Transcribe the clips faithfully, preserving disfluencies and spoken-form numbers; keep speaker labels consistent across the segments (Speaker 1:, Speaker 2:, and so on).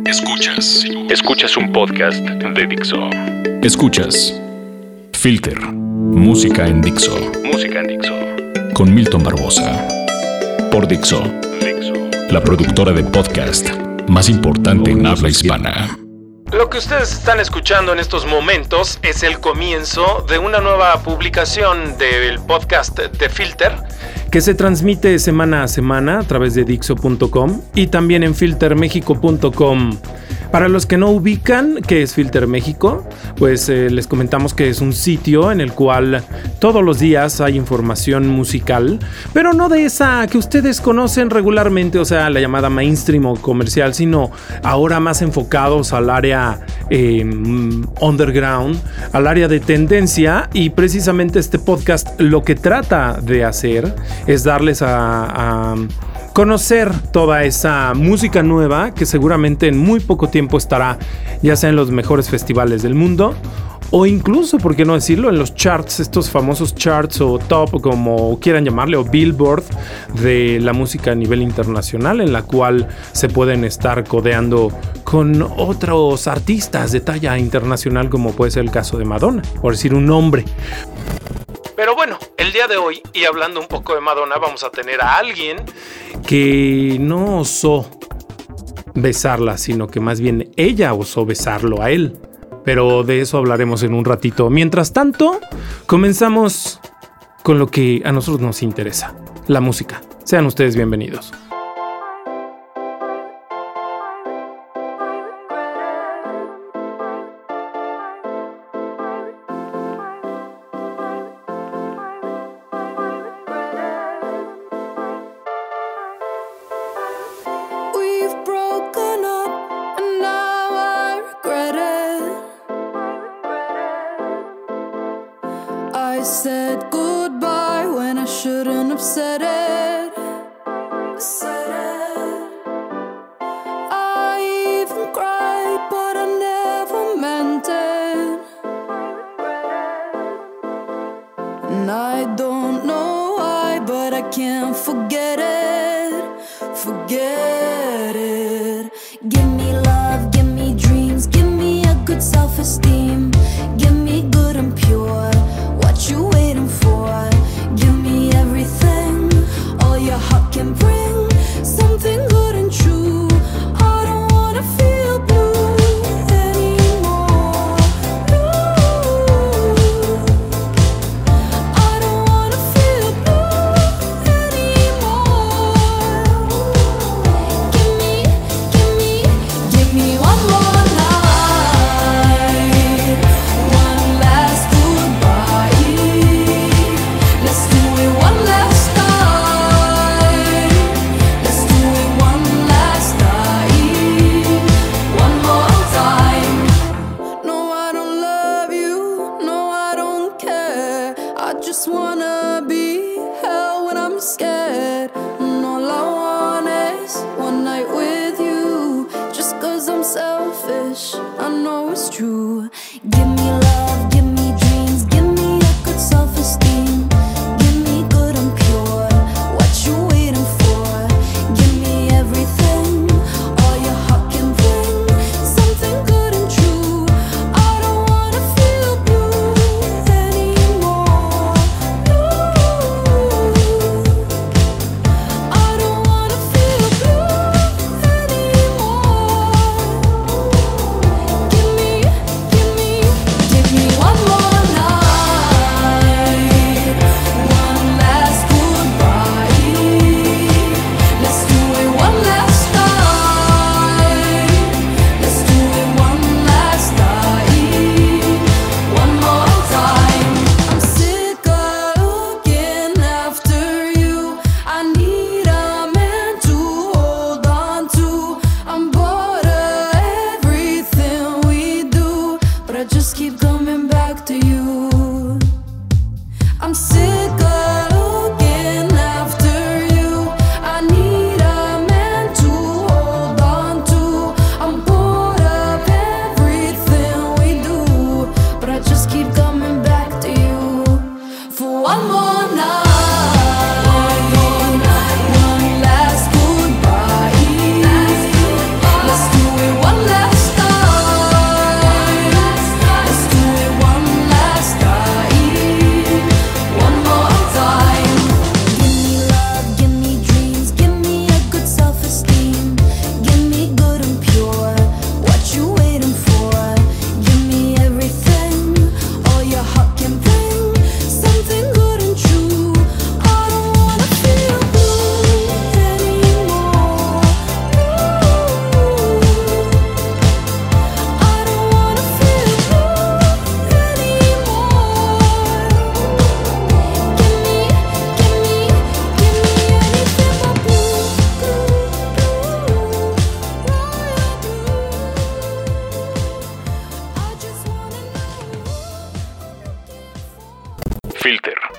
Speaker 1: Escuchas. Escuchas un podcast de Dixo. Escuchas Filter. Música en Dixo. Música en Dixo. Con Milton Barbosa. Por Dixo. Dixo. La productora de podcast más importante en habla hispana.
Speaker 2: Lo que ustedes están escuchando en estos momentos es el comienzo de una nueva publicación del podcast de Filter, que se transmite semana a semana a través de Dixo punto com y también en filter mexico punto com. Para los que no ubican qué es Filter México, pues eh, les comentamos que es un sitio en el cual todos los días hay información musical, pero no de esa que ustedes conocen regularmente, o sea, la llamada mainstream o comercial, sino ahora más enfocados al área eh, underground, al área de tendencia, y precisamente este podcast lo que trata de hacer es darles a... a conocer toda esa música nueva que seguramente en muy poco tiempo estará ya sea en los mejores festivales del mundo o incluso, por qué no decirlo, en los charts, estos famosos charts o top, como quieran llamarle, o Billboard de la música a nivel internacional, en la cual se pueden estar codeando con otros artistas de talla internacional, como puede ser el caso de Madonna, por decir un nombre. Pero bueno, el día de hoy, y hablando un poco de Madonna, vamos a tener a alguien que no osó besarla, sino que más bien ella osó besarlo a él. Pero de eso hablaremos en un ratito. Mientras tanto, comenzamos con lo que a nosotros nos interesa, la música. Sean ustedes bienvenidos.
Speaker 3: I said goodbye when I shouldn't have said it. Said it. I even cried, but I never meant it. And I don't know why, but I can't forget it. Forget it. Give me love, give me dreams, give me a good self-esteem. Give me good and pure. What you waiting for? Give me everything, all your heart can bring. Something good and true. I don't wanna feel blue anymore. Blue. I don't wanna feel blue anymore. Give me, give me,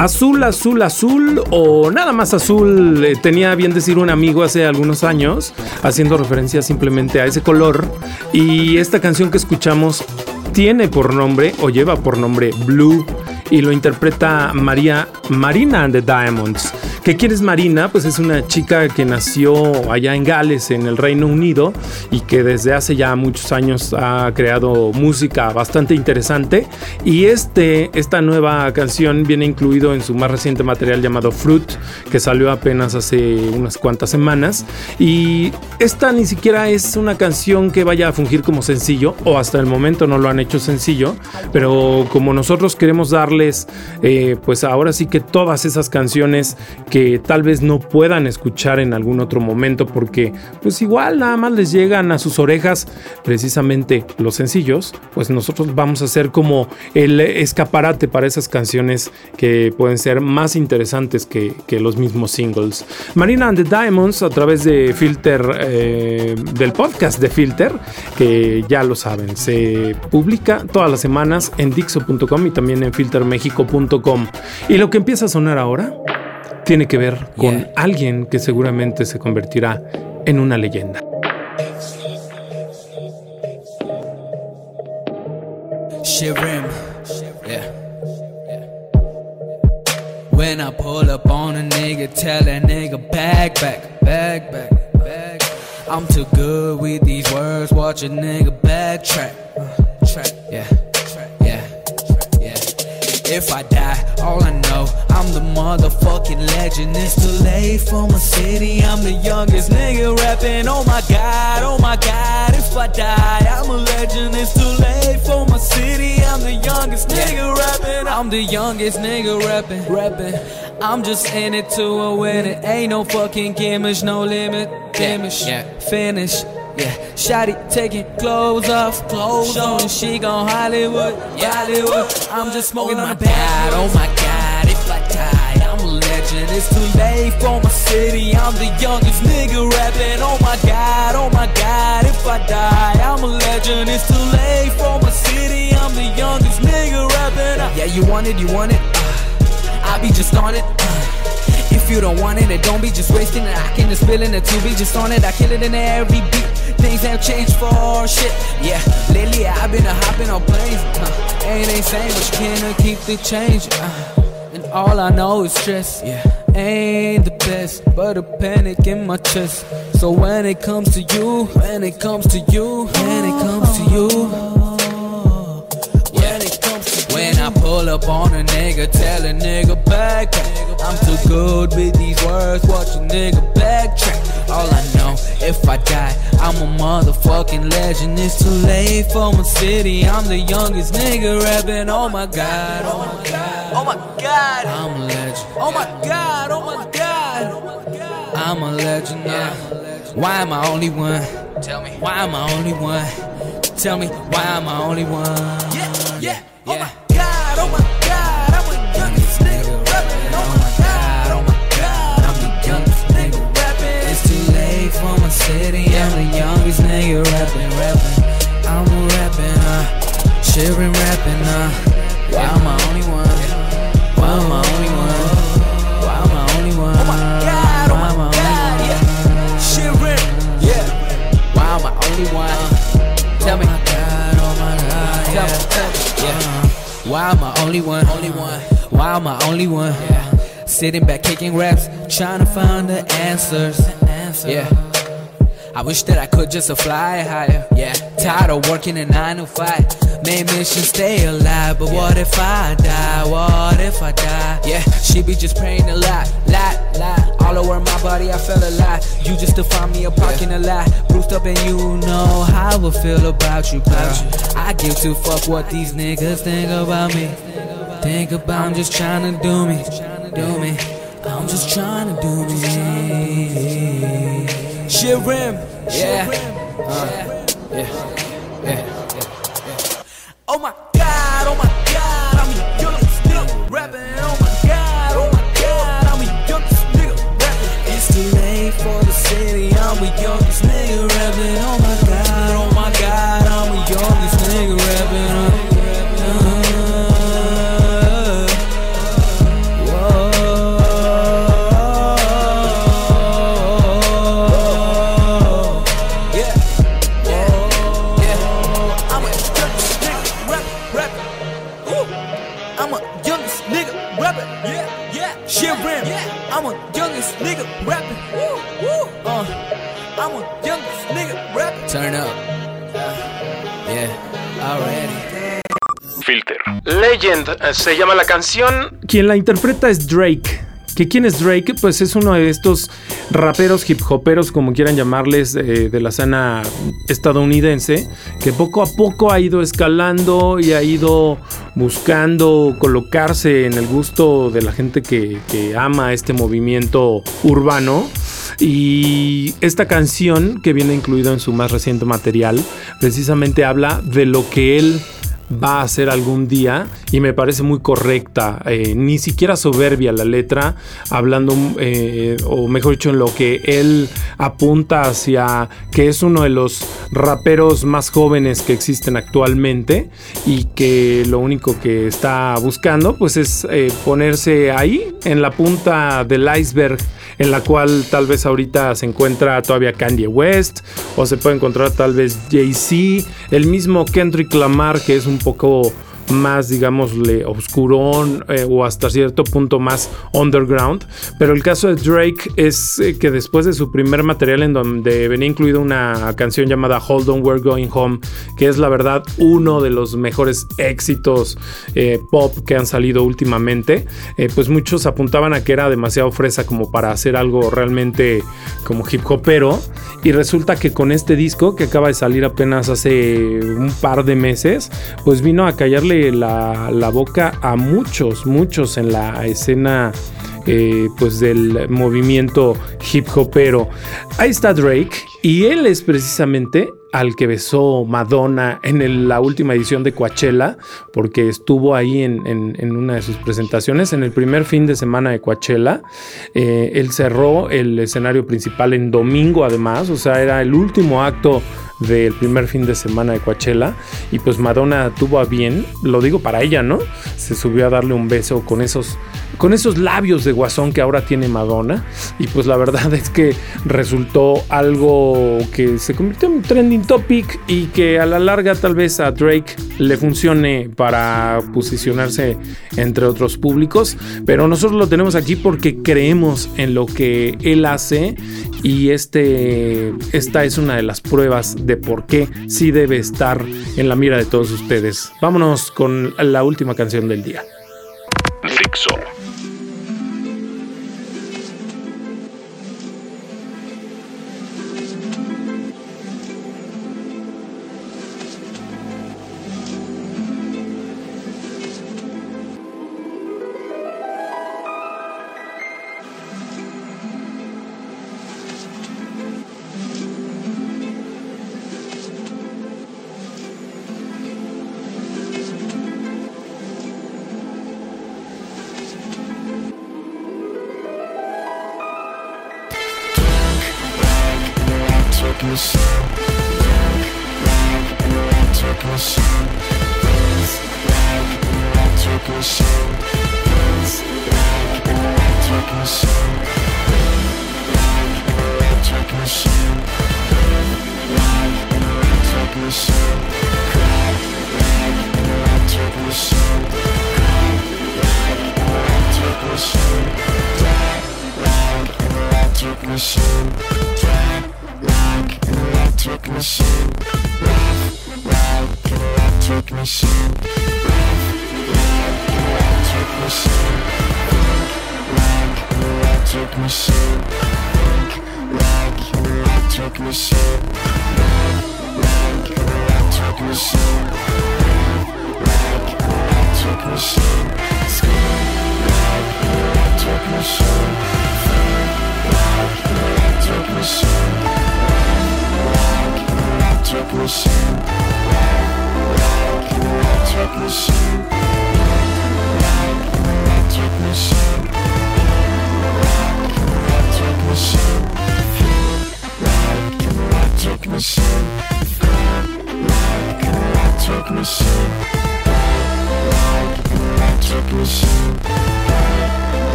Speaker 2: Azul, azul, azul o nada más azul, eh, tenía bien decir un amigo hace algunos años, haciendo referencia simplemente a ese color. Y esta canción que escuchamos tiene por nombre o lleva por nombre Blue y lo interpreta María, Marina and the Diamonds. ¿Que quién es Marina? Pues es una chica que nació allá en Gales, en el Reino Unido, y que desde hace ya muchos años ha creado música bastante interesante. Y este, esta nueva canción viene incluido en su más reciente material llamado Fruit, que salió apenas hace unas cuantas semanas. Y esta ni siquiera es una canción que vaya a fungir como sencillo, o hasta el momento no lo han hecho sencillo, pero como nosotros queremos darles, eh, pues ahora sí que todas esas canciones que tal vez no puedan escuchar en algún otro momento porque pues igual nada más les llegan a sus orejas precisamente los sencillos, pues nosotros vamos a hacer como el escaparate para esas canciones que pueden ser más interesantes que, que los mismos singles. Marina and the Diamonds a través de Filter, eh, del podcast de Filter, que ya lo saben, se publica todas las semanas en Dixo punto com y también en filter mexico punto com. Y lo que empieza a sonar ahora tiene que ver con yeah. alguien que seguramente se convertirá en una leyenda.
Speaker 4: Shivrim, yeah. When I pull up on a nigga, tell that nigga bag back, bag back, bag. I'm too good with these words, watch a nigga backtrack, uh, track, yeah. If I die, all I know, I'm the motherfucking legend. It's too late for my city, I'm the youngest nigga rapping. Oh my god, oh my god, if I die, I'm a legend. It's too late for my city, I'm the youngest nigga rapping. I'm the youngest nigga rapping, rapping. I'm just in it to win it. Ain't no fucking gimmick, no limit, damage, yeah, yeah. Finish. Yeah, shawty taking clothes off, clothes on. She gon' Hollywood, Hollywood. I'm just smoking on the pad. Oh my god, if I die, I'm a legend. It's too late for my city. I'm the youngest nigga rapping. Oh my god, oh my god, if I die, I'm a legend. It's too late for my city. I'm the youngest nigga rapping. Yeah, you want it, you want it. Uh, I be just on it. Uh, If you don't want it, it don't be just wasting it. I can just spill in it to be just on it. I kill it in every beat. Things have changed for shit. Yeah, lately I've been a hopping on planes. Uh, ain't insane, but you can't keep the change. Uh, and all I know is stress. Yeah, ain't the best, but a panic in my chest. So when it comes to you, when it comes to you, when it comes to you. When I pull up on a nigga, tell a nigga back, back. I'm too good with these words, watch a nigga backtrack. All I know, if I die, I'm a motherfucking legend. It's too late for my city, I'm the youngest nigga rapping. Oh my god, oh my god, oh my god, I'm a legend. Oh my god, oh my god, I'm a legend now. Why am I only one? Tell me, why am I only one? Tell me, why am I only one? Yeah, yeah, oh my god, oh my god, I'm the youngest nigga rapping. Oh my god, oh my god, I'm the youngest nigga rapping. It's too late for my city, I'm the youngest nigga rapping, rapping. I'm a rapping, uh, shivering rapping, uh. Why am I only one? Why am I only one? Why am I only one? Oh my god, oh my god, yeah. Shivering, yeah. Why am I only one? Tell me. Oh my god, tell me, tell me, yeah. Why am I only one? Only one. Why am I only one? Yeah. Sitting back kicking raps, trying to find the answers. Yeah. I wish that I could just fly higher. Yeah. Tired of working a nine to five. Main mission stay alive, but what if I die? What if I die? Yeah. She be just praying a lot, lot, lot. All over my body I felt alive. You just define me a parking a lot. Bruised up and you know how I feel about you, girl. I give two fuck what these niggas think about me. Think about I'm just trying to do me, do me. I'm just trying to do me. Shivrim, yeah, uh, yeah, yeah, yeah. Oh my god, oh my god, I'm the youngest nigga rapping. Oh my god, oh my god, I'm the youngest nigga rapping. It's too late for the city, I'm the youngest nigga rapping. Oh my god, oh my god, I'm the youngest nigga rapping. Uh, uh, Lil Ram, I'm a youngest nigga rapping. Uh, I'm a youngest nigga rapping. Turn up. Uh, yeah, already.
Speaker 1: Filter.
Speaker 2: Legend eh, se llama la canción. Quien la interpreta es Drake. ¿Que quién es Drake? Pues es uno de estos raperos, hip hoperos, como quieran llamarles, eh, de la escena estadounidense, que poco a poco ha ido escalando y ha ido buscando colocarse en el gusto de la gente que, que ama este movimiento urbano. Y esta canción, que viene incluida en su más reciente material, precisamente habla de lo que él va a hacer algún día, y me parece muy correcta, eh, ni siquiera soberbia la letra, hablando, eh, o mejor dicho, en lo que él apunta hacia que es uno de los raperos más jóvenes que existen actualmente, y que lo único que está buscando pues es eh, ponerse ahí en la punta del iceberg, en la cual tal vez ahorita se encuentra todavía Kanye West, o se puede encontrar tal vez Jay-Z, el mismo Kendrick Lamar, que es un poco más, digámosle, oscurón, eh, o hasta cierto punto más underground. Pero el caso de Drake es eh, que después de su primer material, en donde venía incluida una canción llamada Hold On, We're Going Home, que es la verdad uno de los mejores éxitos eh, pop que han salido últimamente, eh, pues muchos apuntaban a que era demasiado fresa como para hacer algo realmente como hip hopero, y resulta que con este disco, que acaba de salir apenas hace un par de meses, pues vino a callarle La, la boca a muchos, muchos en la escena eh, pues del movimiento hip hopero. Ahí está Drake, y él es precisamente al que besó Madonna en el, la última edición de Coachella, porque estuvo ahí en, en, en una de sus presentaciones, en el primer fin de semana de Coachella. Eh, él cerró el escenario principal en domingo, además, o sea, era el último acto del primer fin de semana de Coachella, y pues Madonna tuvo a bien, lo digo para ella, ¿no? Se subió a darle un beso con esos, con esos labios de guasón que ahora tiene Madonna, y pues la verdad es que resultó algo que se convirtió en un trending topic, y que a la larga tal vez a Drake le funcione para posicionarse entre otros públicos, pero nosotros lo tenemos aquí porque creemos en lo que él hace, y este, esta es una de las pruebas de por qué sí debe estar en la mira de todos ustedes. Vámonos con la última canción del día.
Speaker 1: Dixo.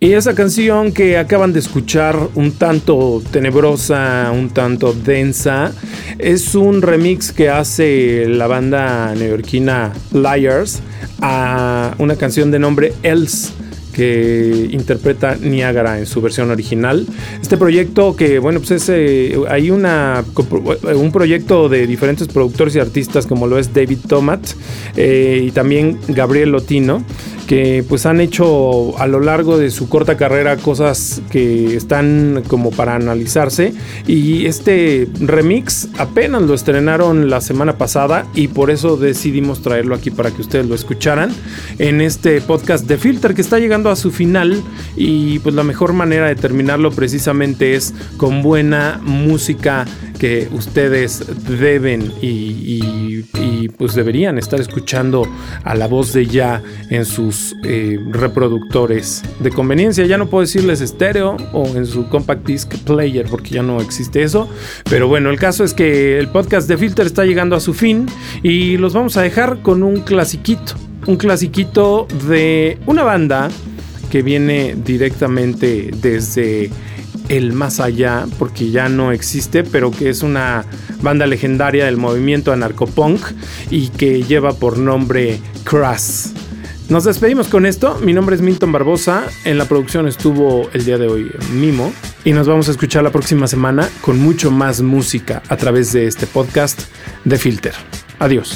Speaker 2: Y esa canción que acaban de escuchar, un tanto tenebrosa, un tanto densa, es un remix que hace la banda neoyorquina Liars a una canción de nombre Else, que interpreta Niagara en su versión original. Este proyecto que, bueno, pues es, eh, hay una, un proyecto de diferentes productores y artistas como lo es David Tomat eh, y también Gabriel Lotino, que pues han hecho a lo largo de su corta carrera cosas que están como para analizarse, y este remix apenas lo estrenaron la semana pasada y por eso decidimos traerlo aquí para que ustedes lo escucharan en este podcast de Filter, que está llegando a su final, y pues la mejor manera de terminarlo precisamente es con buena música que ustedes deben y, y, y pues deberían estar escuchando a la voz de Ya en sus eh, reproductores de conveniencia. Ya no puedo decirles estéreo o en su compact disc player porque ya no existe eso, pero bueno, el caso es que el podcast de Filter está llegando a su fin y los vamos a dejar con un clasiquito, un clasiquito de una banda que viene directamente desde el más allá, porque ya no existe, pero que es una banda legendaria del movimiento anarcopunk y que lleva por nombre Crass. Nos despedimos con esto. Mi nombre es Milton Barbosa. En la producción estuvo el día de hoy Mimo, y nos vamos a escuchar la próxima semana con mucho más música a través de este podcast de Filter. Adiós.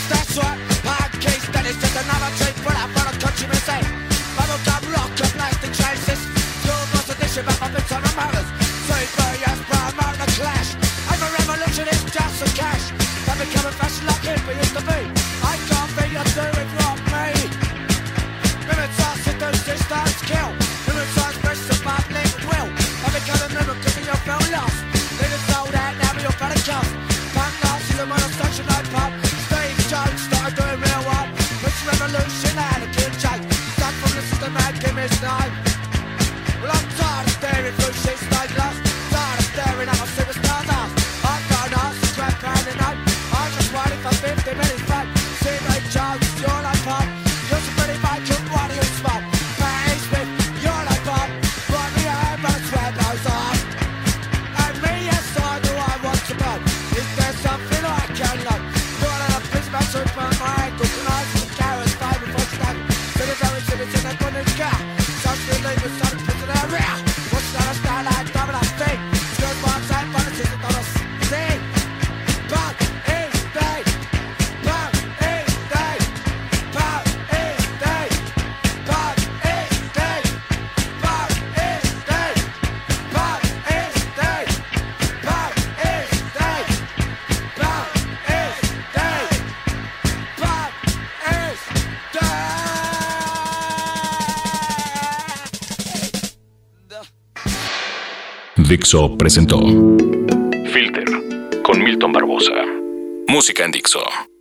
Speaker 1: Dixo presentó Filter con Milton Barbosa. Música en Dixo.